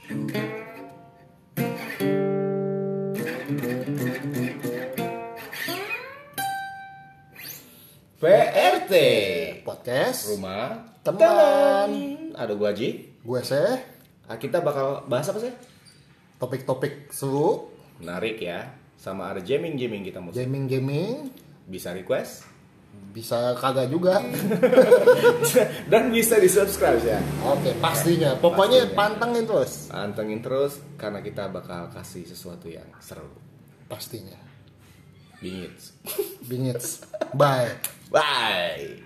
PRT Podcast Rumah Teman. Ada gua Haji. Gue sih Kita bakal bahas apa sih? topik-topik seru, Menarik ya. Sama ada gaming kita mau. gaming Bisa request bisa kagak juga. dan bisa di-subscribe ya. Oke, pastinya. Pokoknya Pastinya. pantengin terus. Pantengin terus karena kita bakal kasih sesuatu yang seru. Pastinya. Bingits. Bingits. Bye. Bye.